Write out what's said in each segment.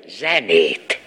zenét.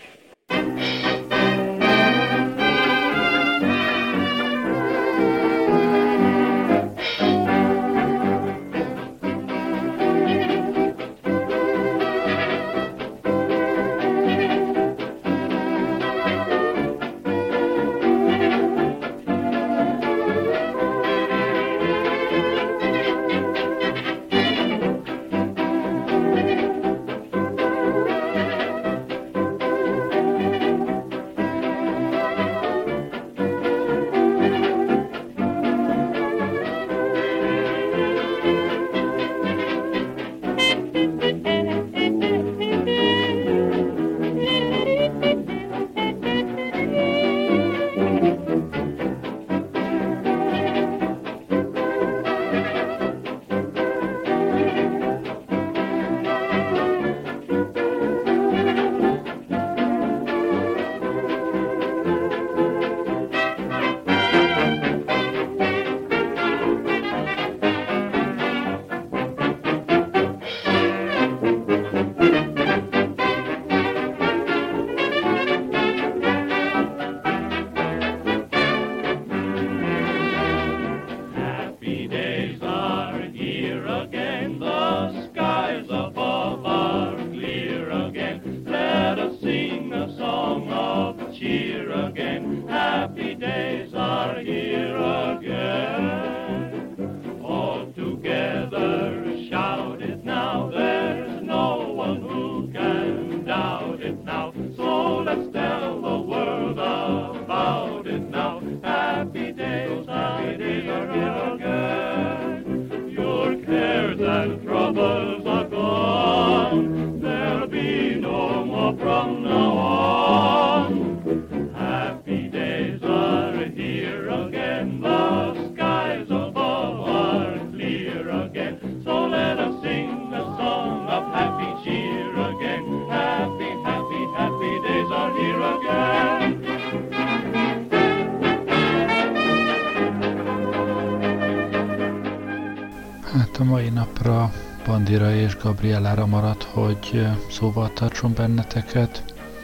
A mai napra Bandira és Gabrielára maradt, hogy szóval tartson benneteket.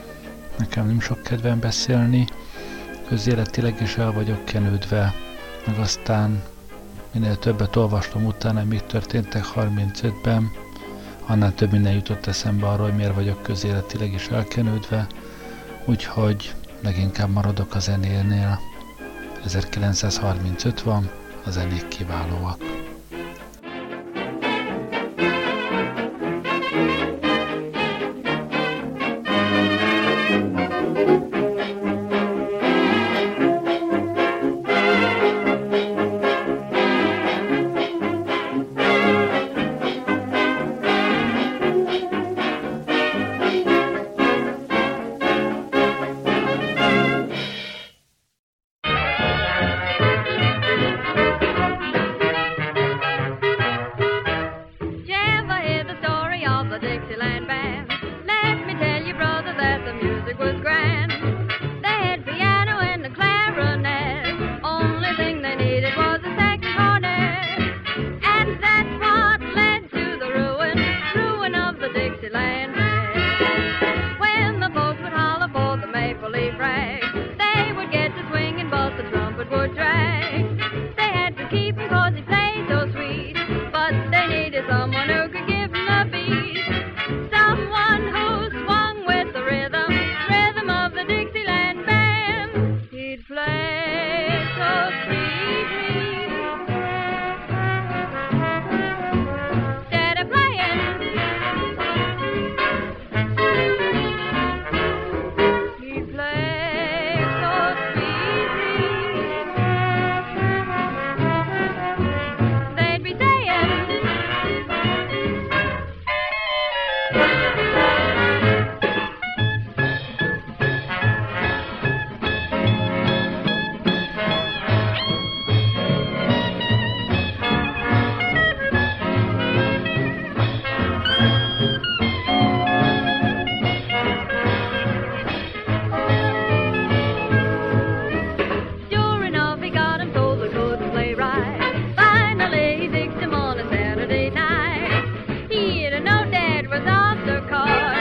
Nekem nem sok kedvem beszélni, közéletileg is el vagyok kenődve, meg aztán minél többet olvastam utána, még történtek 35-ben, annál több minden jutott eszembe arról, hogy miért vagyok közéletileg is elkenődve, úgyhogy leginkább maradok a zenénél. 1935 van, a zenék kiválóak. He had a no dad was off the car.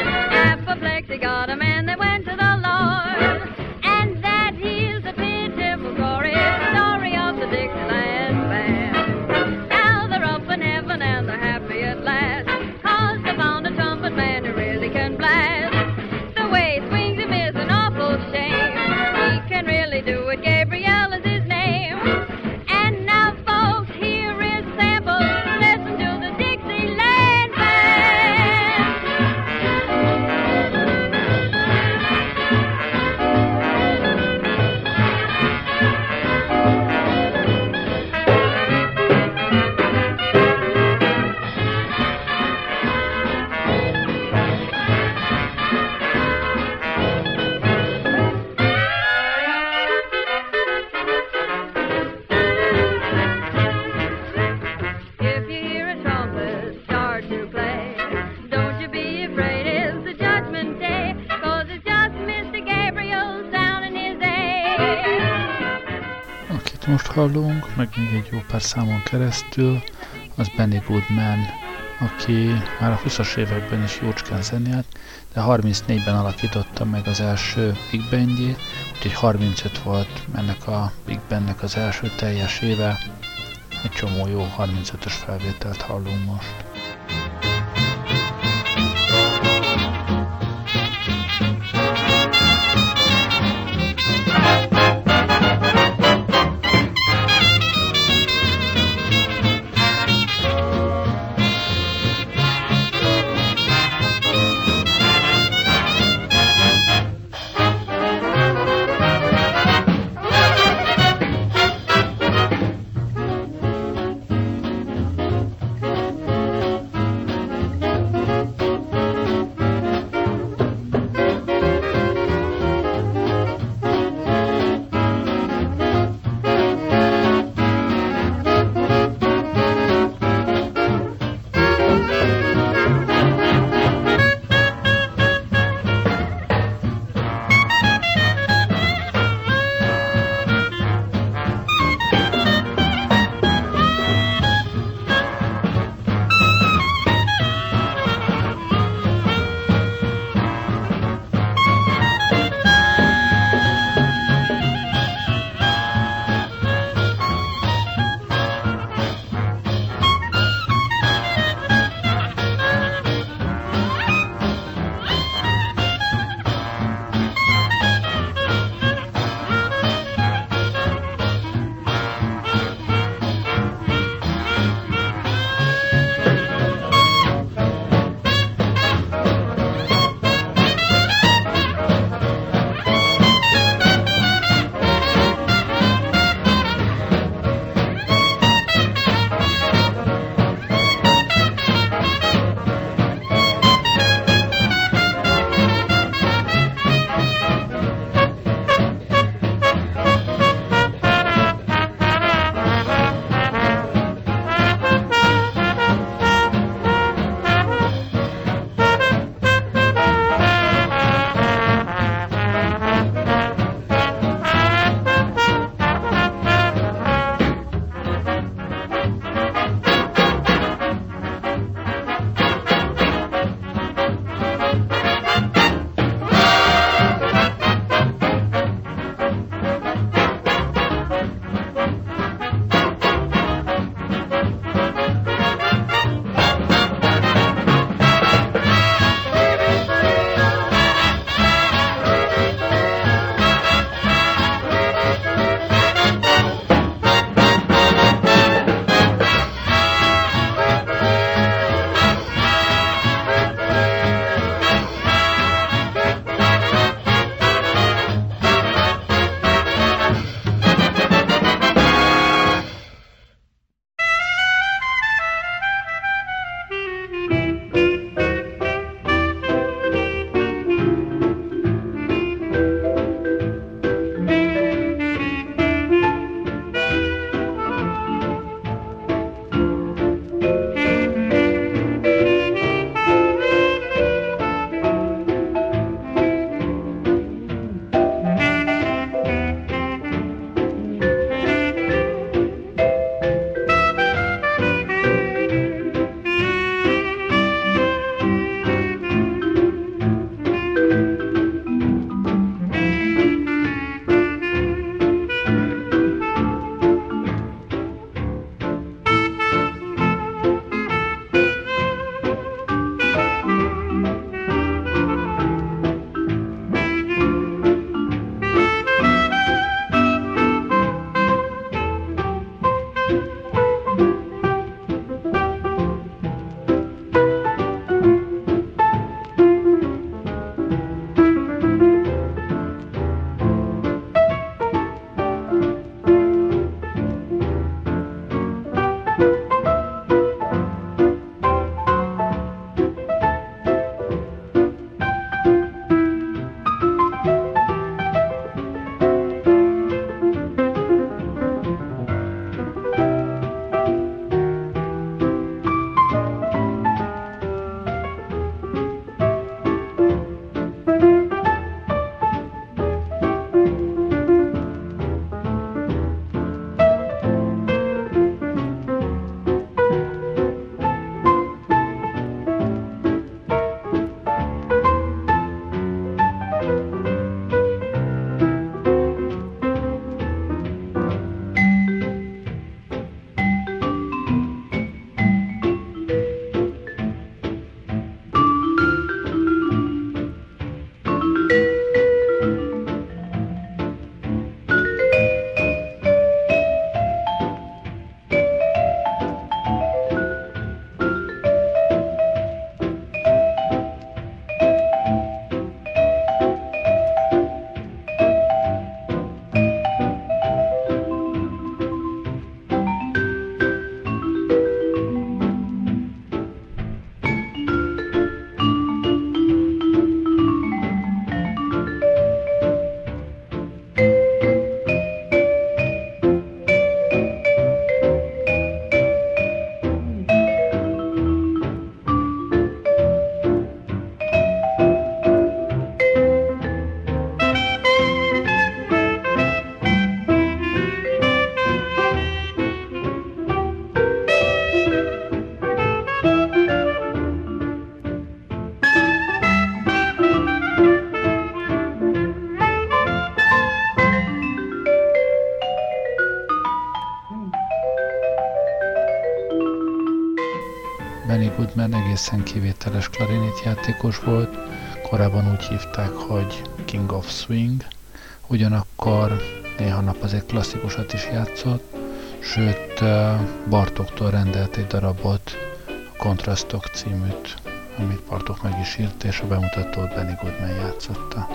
amit most hallunk, meg még egy jó pár számon keresztül, az Benny Goodman, aki már a 20-as években is jócskán zenélt, de 34-ben alakította meg az első Big Bandjét, úgyhogy 35 volt ennek a Big Bandnek az első teljes éve. Egy csomó jó 35-ös felvételt hallunk most. Turner egészen kivételes klarinét játékos volt, korábban úgy hívták, hogy King of Swing, ugyanakkor néha nap azért klasszikusat is játszott, sőt Bartóktól rendelt egy darabot, a Kontrasztok címűt, amit Bartók meg is írt, és a bemutatót Benny Goodman játszotta.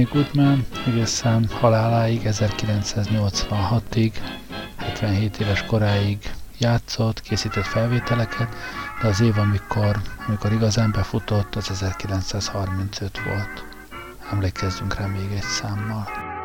Goodman egészen haláláig, 1986-ig, 77 éves koráig játszott, készített felvételeket, de az év, amikor igazán befutott, az 1935 volt. Emlékezzünk rá még egy számmal.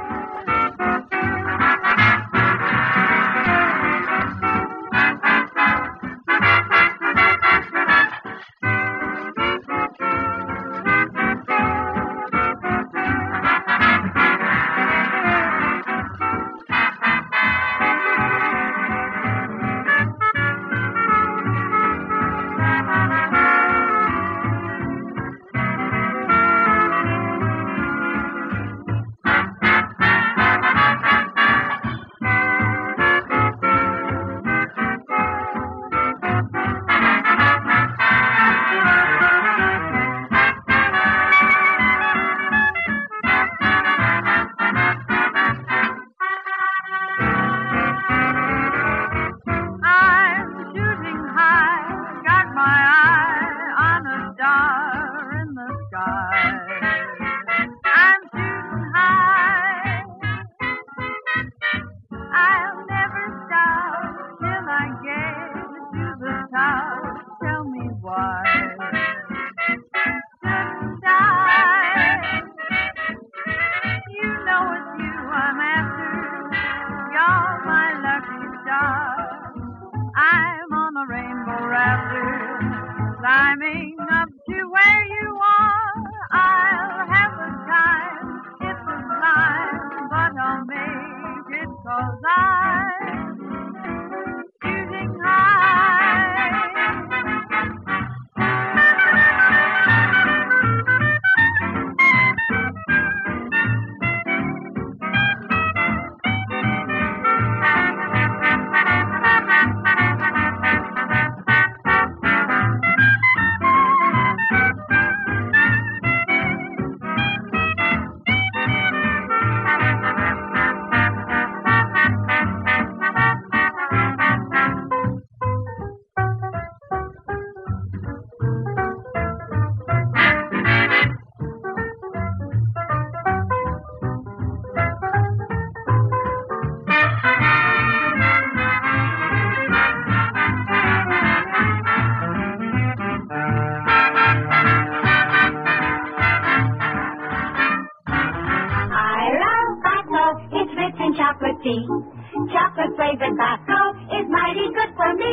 Chocolate flavored Bacco is mighty good for me.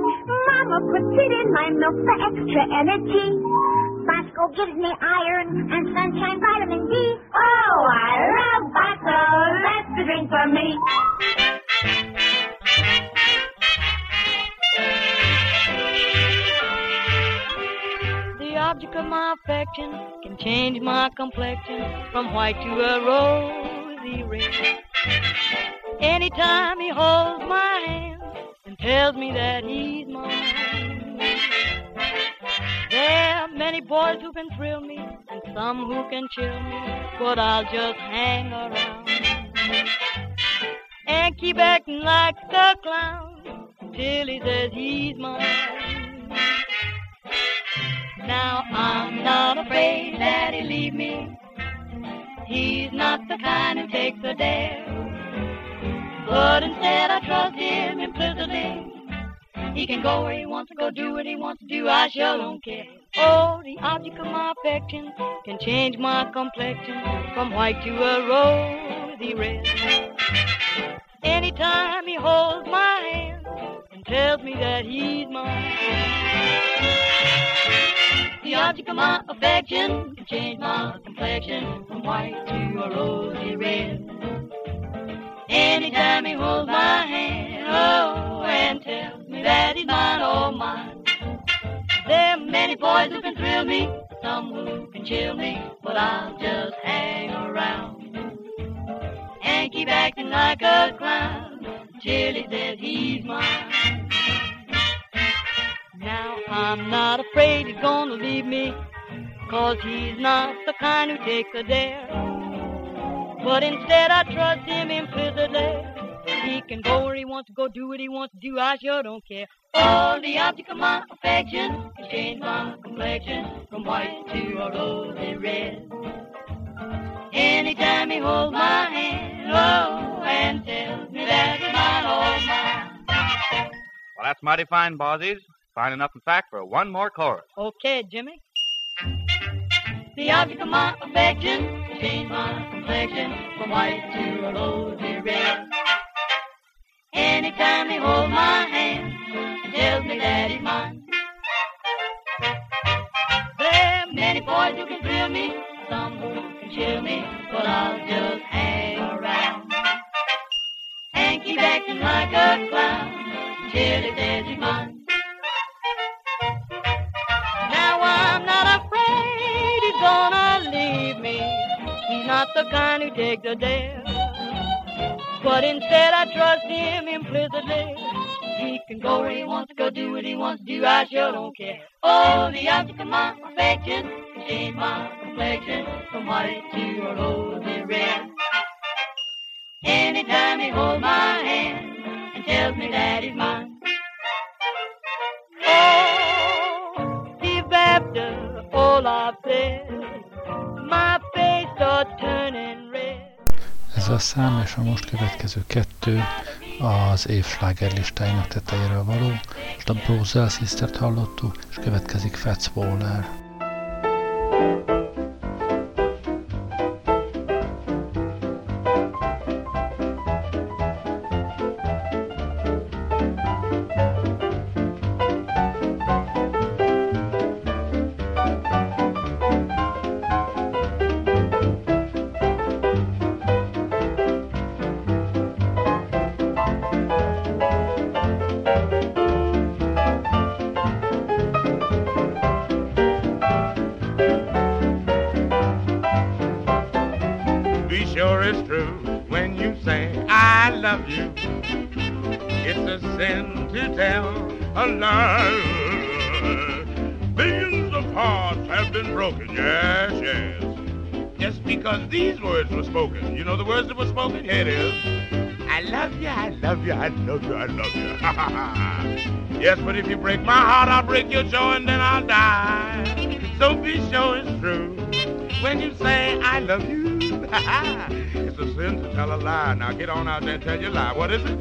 Mama puts it in my milk for extra energy. Bacco gives me iron and sunshine vitamin D. Oh, I love Bacco. That's the drink for me. The object of my affection can change my complexion from white to a rosy red. Anytime he holds my hand and tells me that he's mine. There are many boys who can thrill me and some who can chill me, but I'll just hang around and keep acting like a clown until he says he's mine. Now I'm not afraid that he'll leave me. He's not the kind who takes a dare. But instead I trust him implicitly. He can go where he wants to go, do what he wants to do, I sure don't care. Oh, the object of my affection can change my complexion from white to a rosy red. Anytime he holds my hand and tells me that he's mine. The object of my affection can change my complexion from white to a rosy red. Anytime he holds my hand, oh, and tells me that he's mine, oh, mine. There are many boys who can thrill me, some who can chill me, but I'll just hang around and keep acting like a clown till he says he's mine. Now I'm not afraid he's gonna leave me, 'cause he's not the kind who takes a dare. But instead I trust him implicitly. He can go where he wants to go, do what he wants to do, I sure don't care. Oh, the object of my affection can change my complexion from white to a rosy red. Anytime he holds my hand, oh, and tells me that he's mine, oh, mine. Well, that's mighty fine, Bozzies. Fine enough, in fact, for one more chorus. Okay, Jimmy. The object of my affection changed my complexion from white to a rosy red. Anytime he holds my hand and tells me that he's mine. There are many boys who can thrill me, some who can chill me, but I'll just hang around and keep acting like a clown till he says he's mine. Now I'm not afraid he's gonna leave me. He's not the kind who takes a dare, but instead I trust him implicitly. He can go where he wants to go, do what he wants to do, I sure don't care. Oh, the object of my affection can change my complexion from white to a rosy red. Anytime he holds my hand and tells me that he's mine. Oh, deep after all I've said, my face starts turning red. Ez a szám és a most következő kettő az év slágerlistáinak tetejéről való. Most a Brosel Sistert hallottuk, és következik Fats Waller. These words were spoken. You know the words that were spoken? Here it is. I love you, I love you, I love you, I love you. Yes, but if you break my heart, I'll break your jaw and then I'll die. So be sure it's true when you say I love you. It's a sin to tell a lie. Now get on out there and tell your lie. What is it?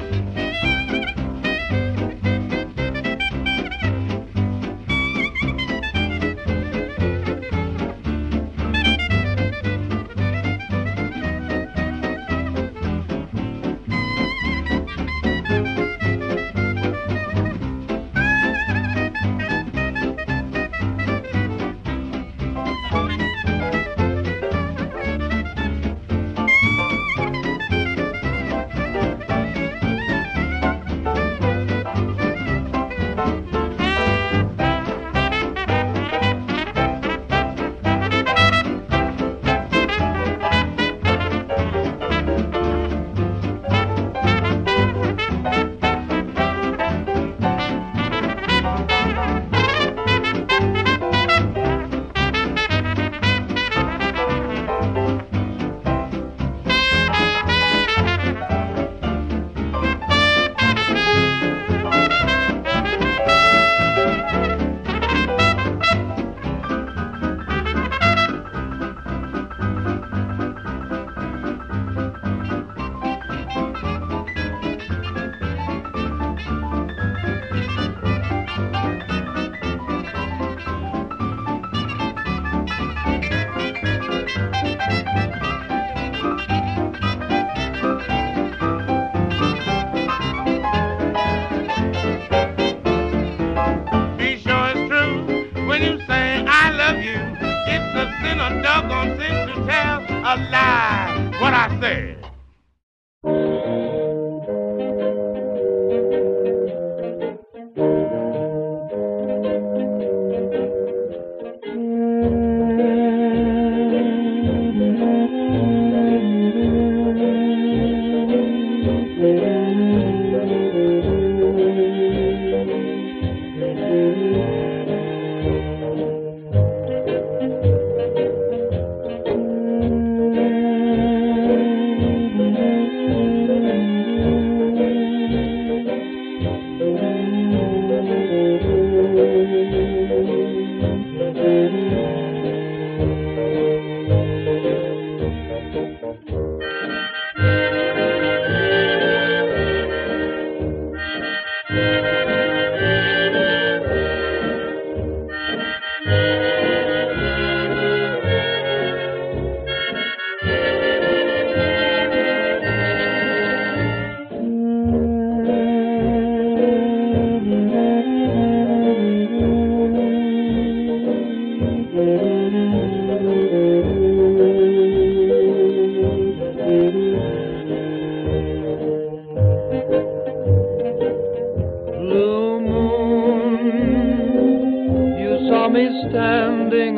standing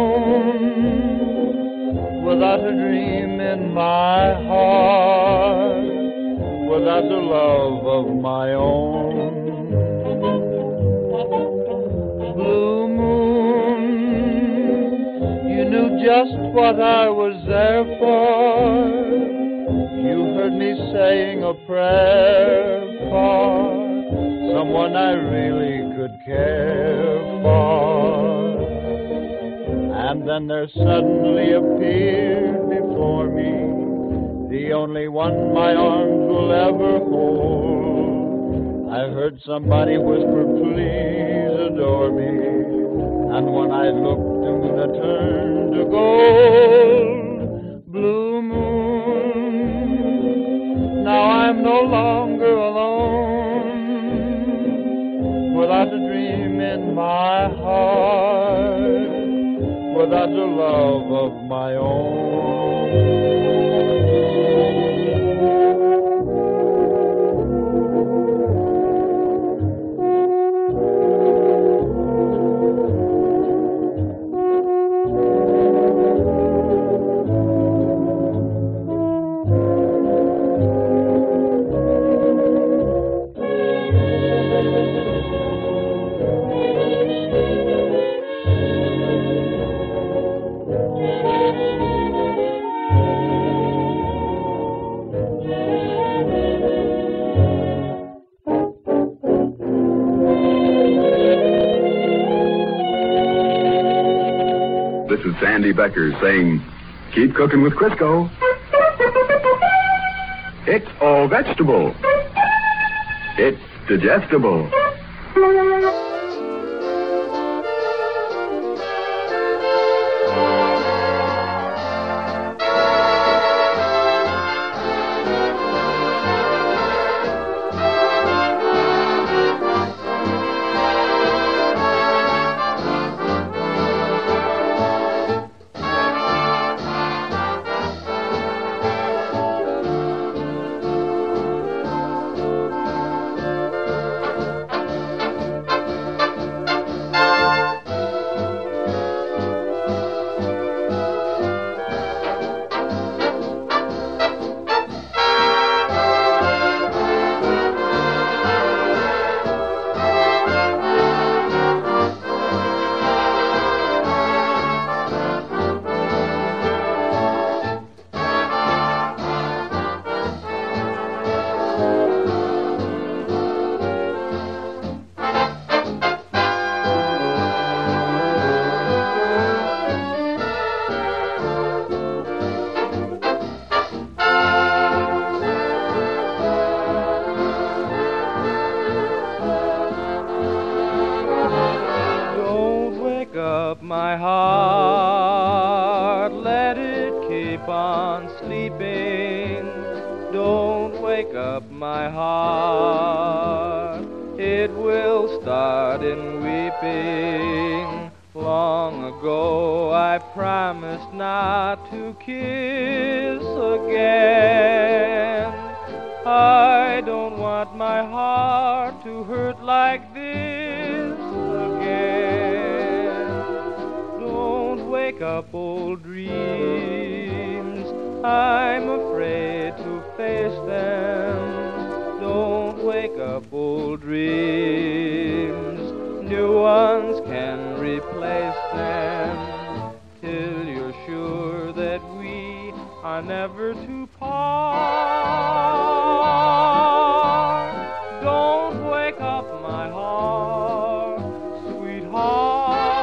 alone, without a dream in my heart, without the love of my own. Blue moon, you knew just what I was there for. You heard me saying a prayer for someone I really could care for. And then there suddenly appeared before me the only one my arms will ever hold. I heard somebody whisper, please adore me. And when I looked, the moon had turned to gold. Blue moon, now I'm no longer alone, without a dream in my heart, without the love of my own. This is Sandy Becker saying, keep cooking with Crisco. It's all vegetable. It's digestible. My heart, let it keep on sleeping. Don't wake up my heart, it will start in weeping. Long ago I promised not to kiss again. I don't want my heart to hurt like this again. Wake up old dreams, I'm afraid to face them. Don't wake up old dreams, new ones can replace them. Till you're sure that we are never to part. Don't wake up my heart, sweetheart.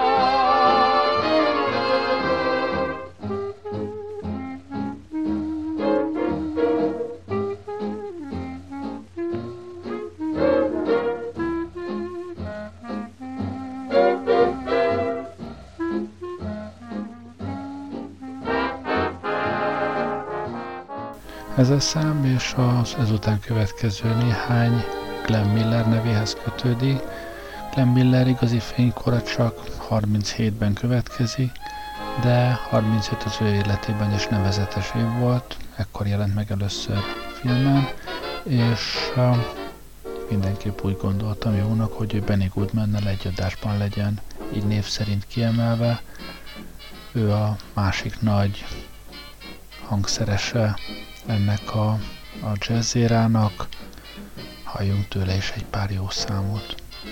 Ez a szám és az ezután következő néhány Glenn Miller nevéhez kötődik. Glenn Miller igazi fénykora csak 37-ben következik, de 35 az ő életében is nevezetes év volt, ekkor jelent meg először filmen, és mindenképp úgy gondoltam jónak, hogy ő Benny Goodmannel egy adásban legyen így név szerint kiemelve. Ő a másik nagy hangszerese ennek a jazzérának. Halljunk tőle is egy pár jó számot.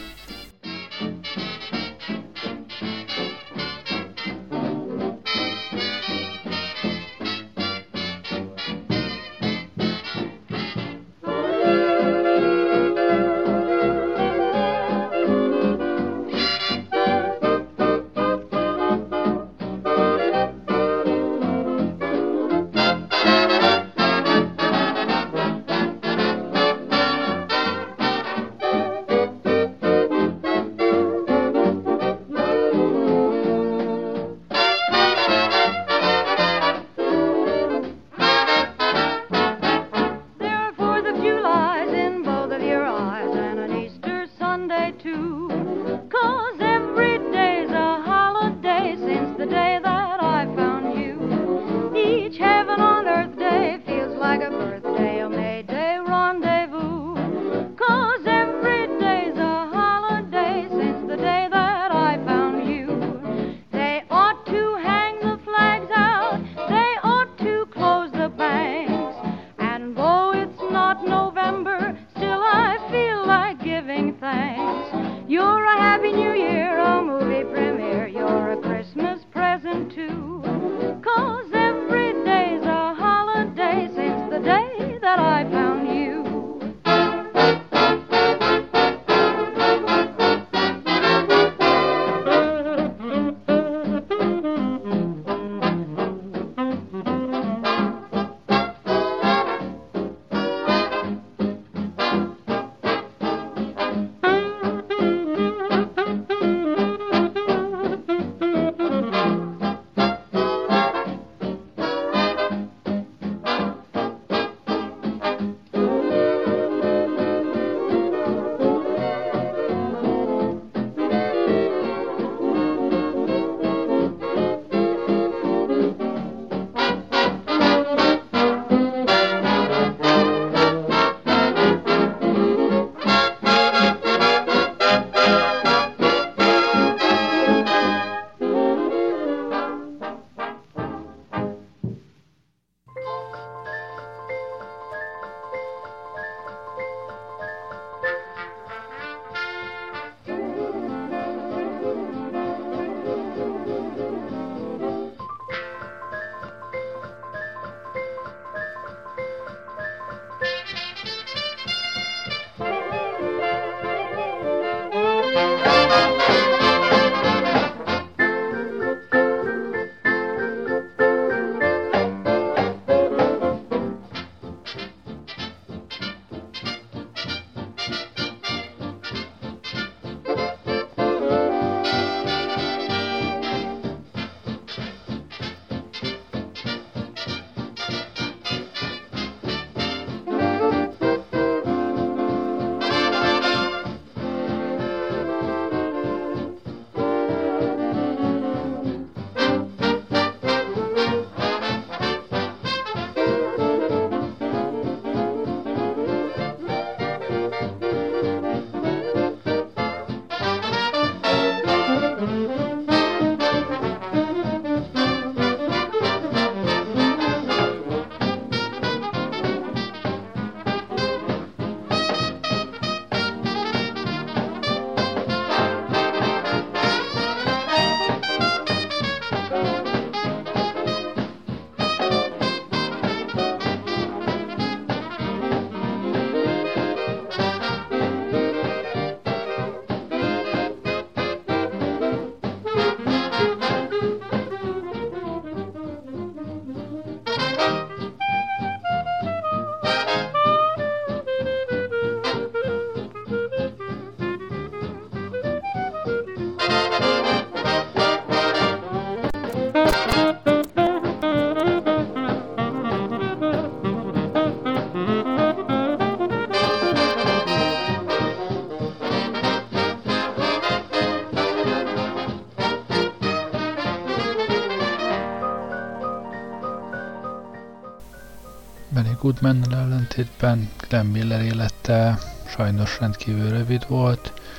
Benny Goodmannel ellentétben Glenn Miller élete sajnos rendkívül rövid volt.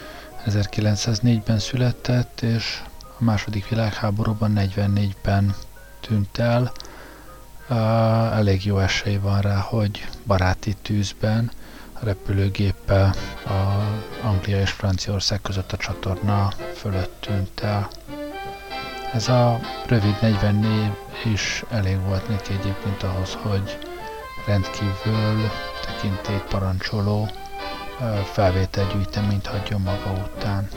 1904-ben született, és a második világháborúban 44-ben tűnt el. Elég jó esély van rá, hogy baráti tűzben a repülőgéppel Anglia és Franciaország között a csatorna fölött tűnt el. Ez a rövid 44 is elég volt neki egyébként ahhoz, hogy rendkívül tekintélyt parancsoló felvételgyűjteményt hagyjon maga után.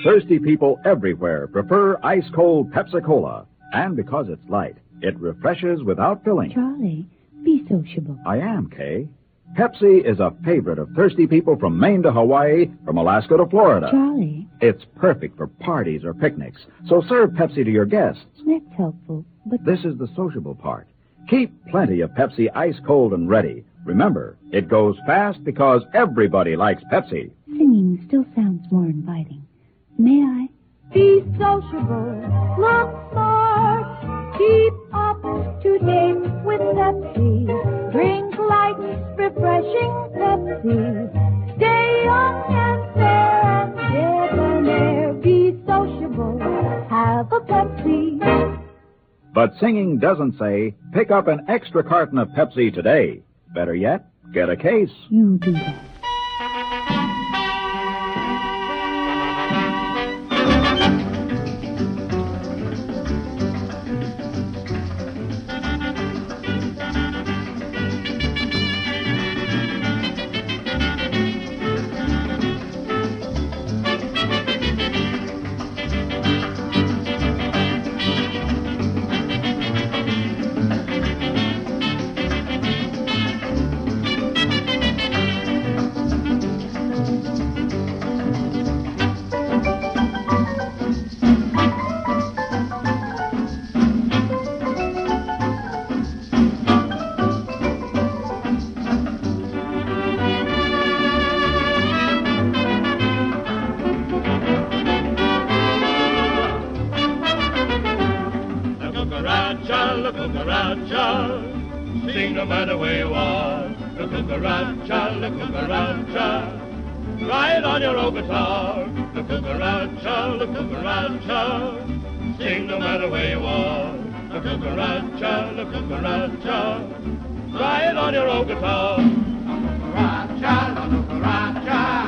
thirsty people everywhere prefer ice-cold Pepsi-Cola. And because it's light, it refreshes without filling. Charlie, be sociable. I am, Kay. Pepsi is a favorite of thirsty people from Maine to Hawaii, from Alaska to Florida. Charlie. It's perfect for parties or picnics, so serve Pepsi to your guests. That's helpful, but... This is the sociable part. Keep plenty of Pepsi ice-cold and ready. Remember, it goes fast because everybody likes Pepsi. Singing still sounds more inviting. May I? Be sociable, look smart, keep up to date with Pepsi. Drink light, refreshing Pepsi. Stay young and fair and debonair. Be sociable, have a Pepsi. But singing doesn't say, pick up an extra carton of Pepsi today. Better yet, get a case. You do that. cucaracha, sing no matter where you are. The cucaracha, the cucaracha, ride on your old guitar. The cucaracha, sing no matter where you are. The cucaracha, ride on your old guitar. Cucaracha, the cucaracha.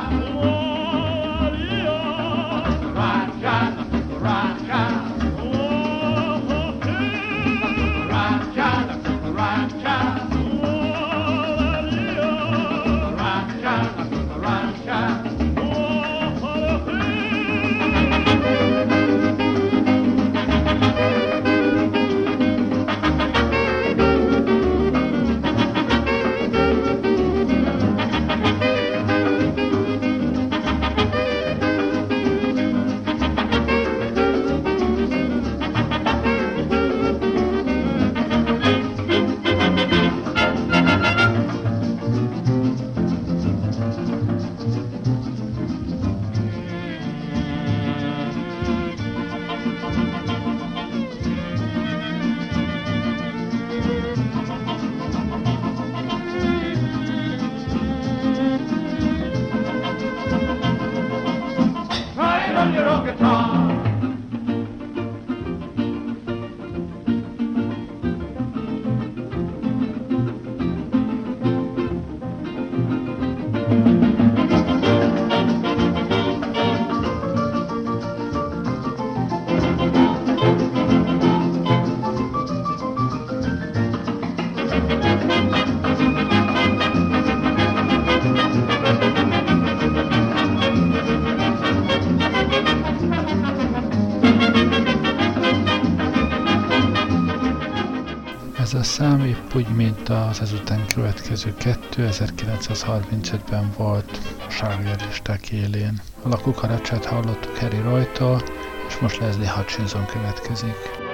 Ez a szám épp úgy, mint az ezután következő 1935-ben volt a slágerlisták élén. A La Cucarachát hallottuk Harry Roy-tól, és most Leslie Hutchinson következik.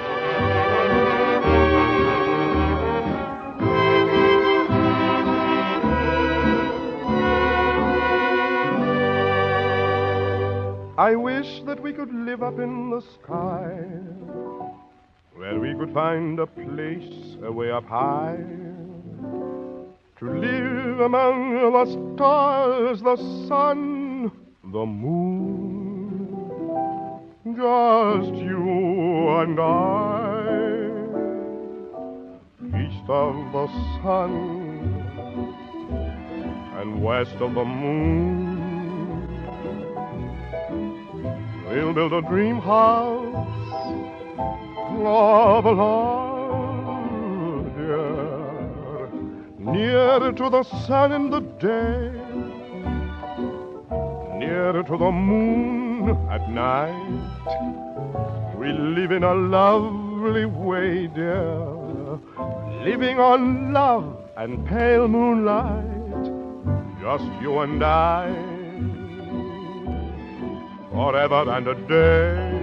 I wish that we could live up in the sky, where we could find a place way up high, to live among the stars, the sun, the moon, just you and I, east of the sun and west of the moon. We'll build a dream house of love, dear, near to the sun in the day, near to the moon at night. We live in a lovely way, dear, living on love and pale moonlight, just you and I, forever and a day.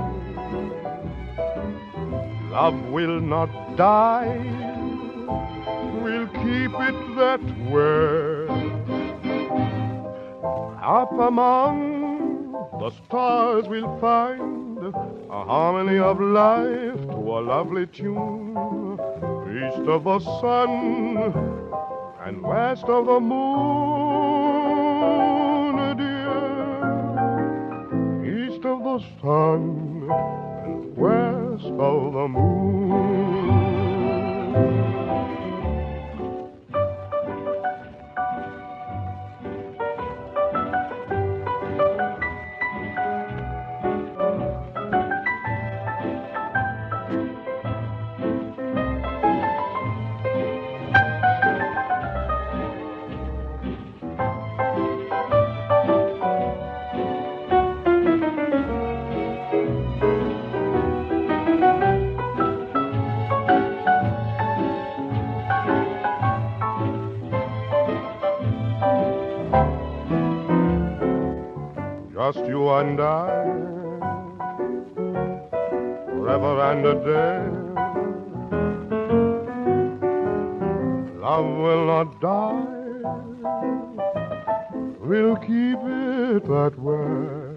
Love will not die, we'll keep it that way. Up among the stars we'll find a harmony of life to a lovely tune, east of the sun and west of the moon, dear. East of the sun and west of the moon. Just you and I, forever and a day. Love will not die, we'll keep it that way.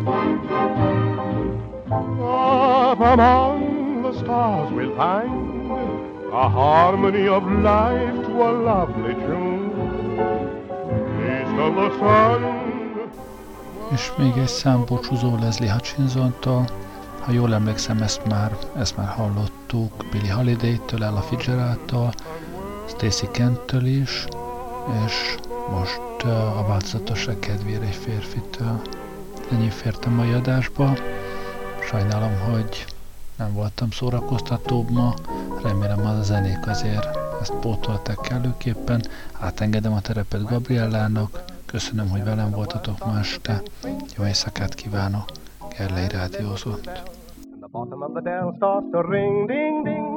Up among the stars we'll find a harmony of life to a lovely tune, east of the sun. És még egy szám búcsúzó Leslie Hutchinsontól. Ha jól emlékszem, ezt már hallottuk Billie Holiday-től, Ella Fitzgeraldtól, Stacey Kent-től is, és most a változatosság kedvére egy férfitől. Ennyi fért a mai adásba. Sajnálom, hogy nem voltam szórakoztatóbb ma. Remélem, az a zenék azért ezt pótolták kellőképpen. Átengedem a terepet Gabriellának. Köszönöm, hogy velem voltatok ma este. Jó éjszakát kívánok. Gerlei rádiózott. The bottom of the dell starts to ring, ding, ding,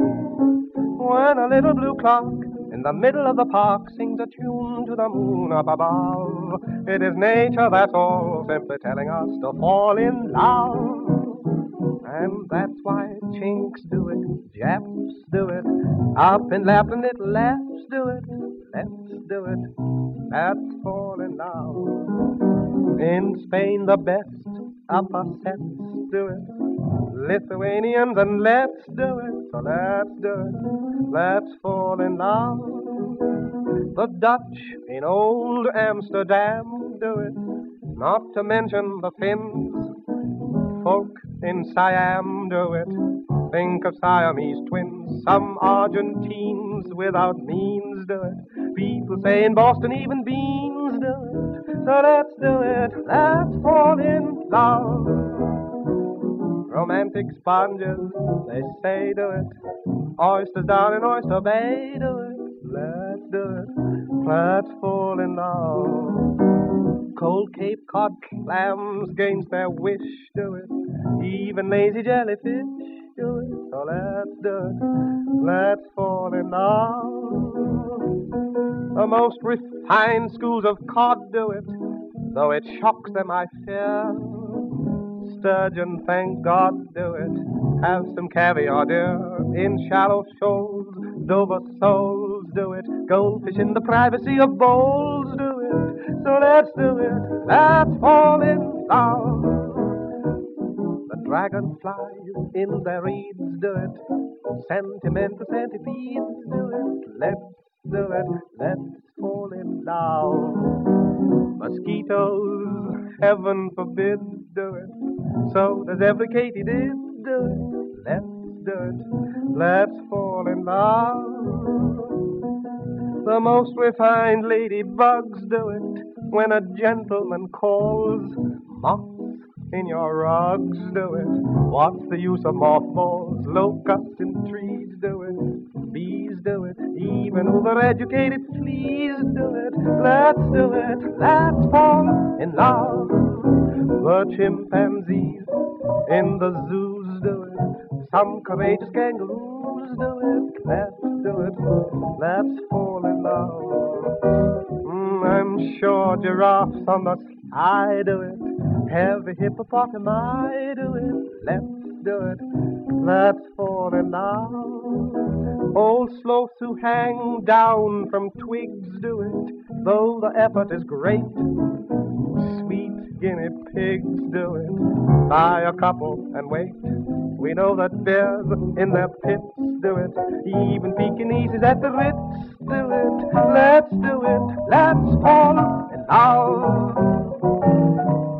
when a little blue clock in the middle of the park sings a tune to the moon up above. It is nature, that's all, simply telling us to fall in love. And that's why Chinks do it, Japs do it, up in Lapland little Laps do it, let's do it, that's fall in love. In Spain the best upper sets do it, Lithuanians, and let's do it, so let's do it, let's fall in love. The Dutch in old Amsterdam do it, not to mention the Finns, folk in Siam do it, think of Siamese twins, some Argentines without means do it, people say in Boston even beans do it, so let's do it, let's fall in love. Romantic sponges, they say do it, oysters down in Oyster Bay do it, let's do it, let's fall in love. Cold Cape Cod clams against their wish do it, even lazy jellyfish do it, so let's do it, let's fall in love. The most refined schools of cod do it, though it shocks them I fear. Sturgeon, thank God, do it, have some caviar dear, in shallow shoals, Dover soles do it, goldfish in the privacy of bowls do it, so let's do it, let's fall in love. The dragonflies in their reeds do it, sentimental centipedes do it, let's do it, let's fall in love. Mosquitoes, heaven forbid, do it, so does every katydid do it, let's do it, let's fall in love. The most refined ladybugs do it, when a gentleman calls, moths in your rugs do it, what's the use of mothballs, locusts in trees do it, bees do it, even overeducated fleas do it, let's do it, let's fall in love. The chimpanzees in the zoos do it. Some courageous kangaroos do it. Let's do it. Let's fall in love. I'm sure giraffes on the sky do it. Heavy hippopotami do it. Let's do it. Let's fall in love. Old sloths who hang down from twigs do it. Though the effort is great, sweet guinea pigs do it. Buy a couple and wait. We know that bears in their pits do it. Even Pekingeses at the Ritz do it. Let's do it. Let's fall in love.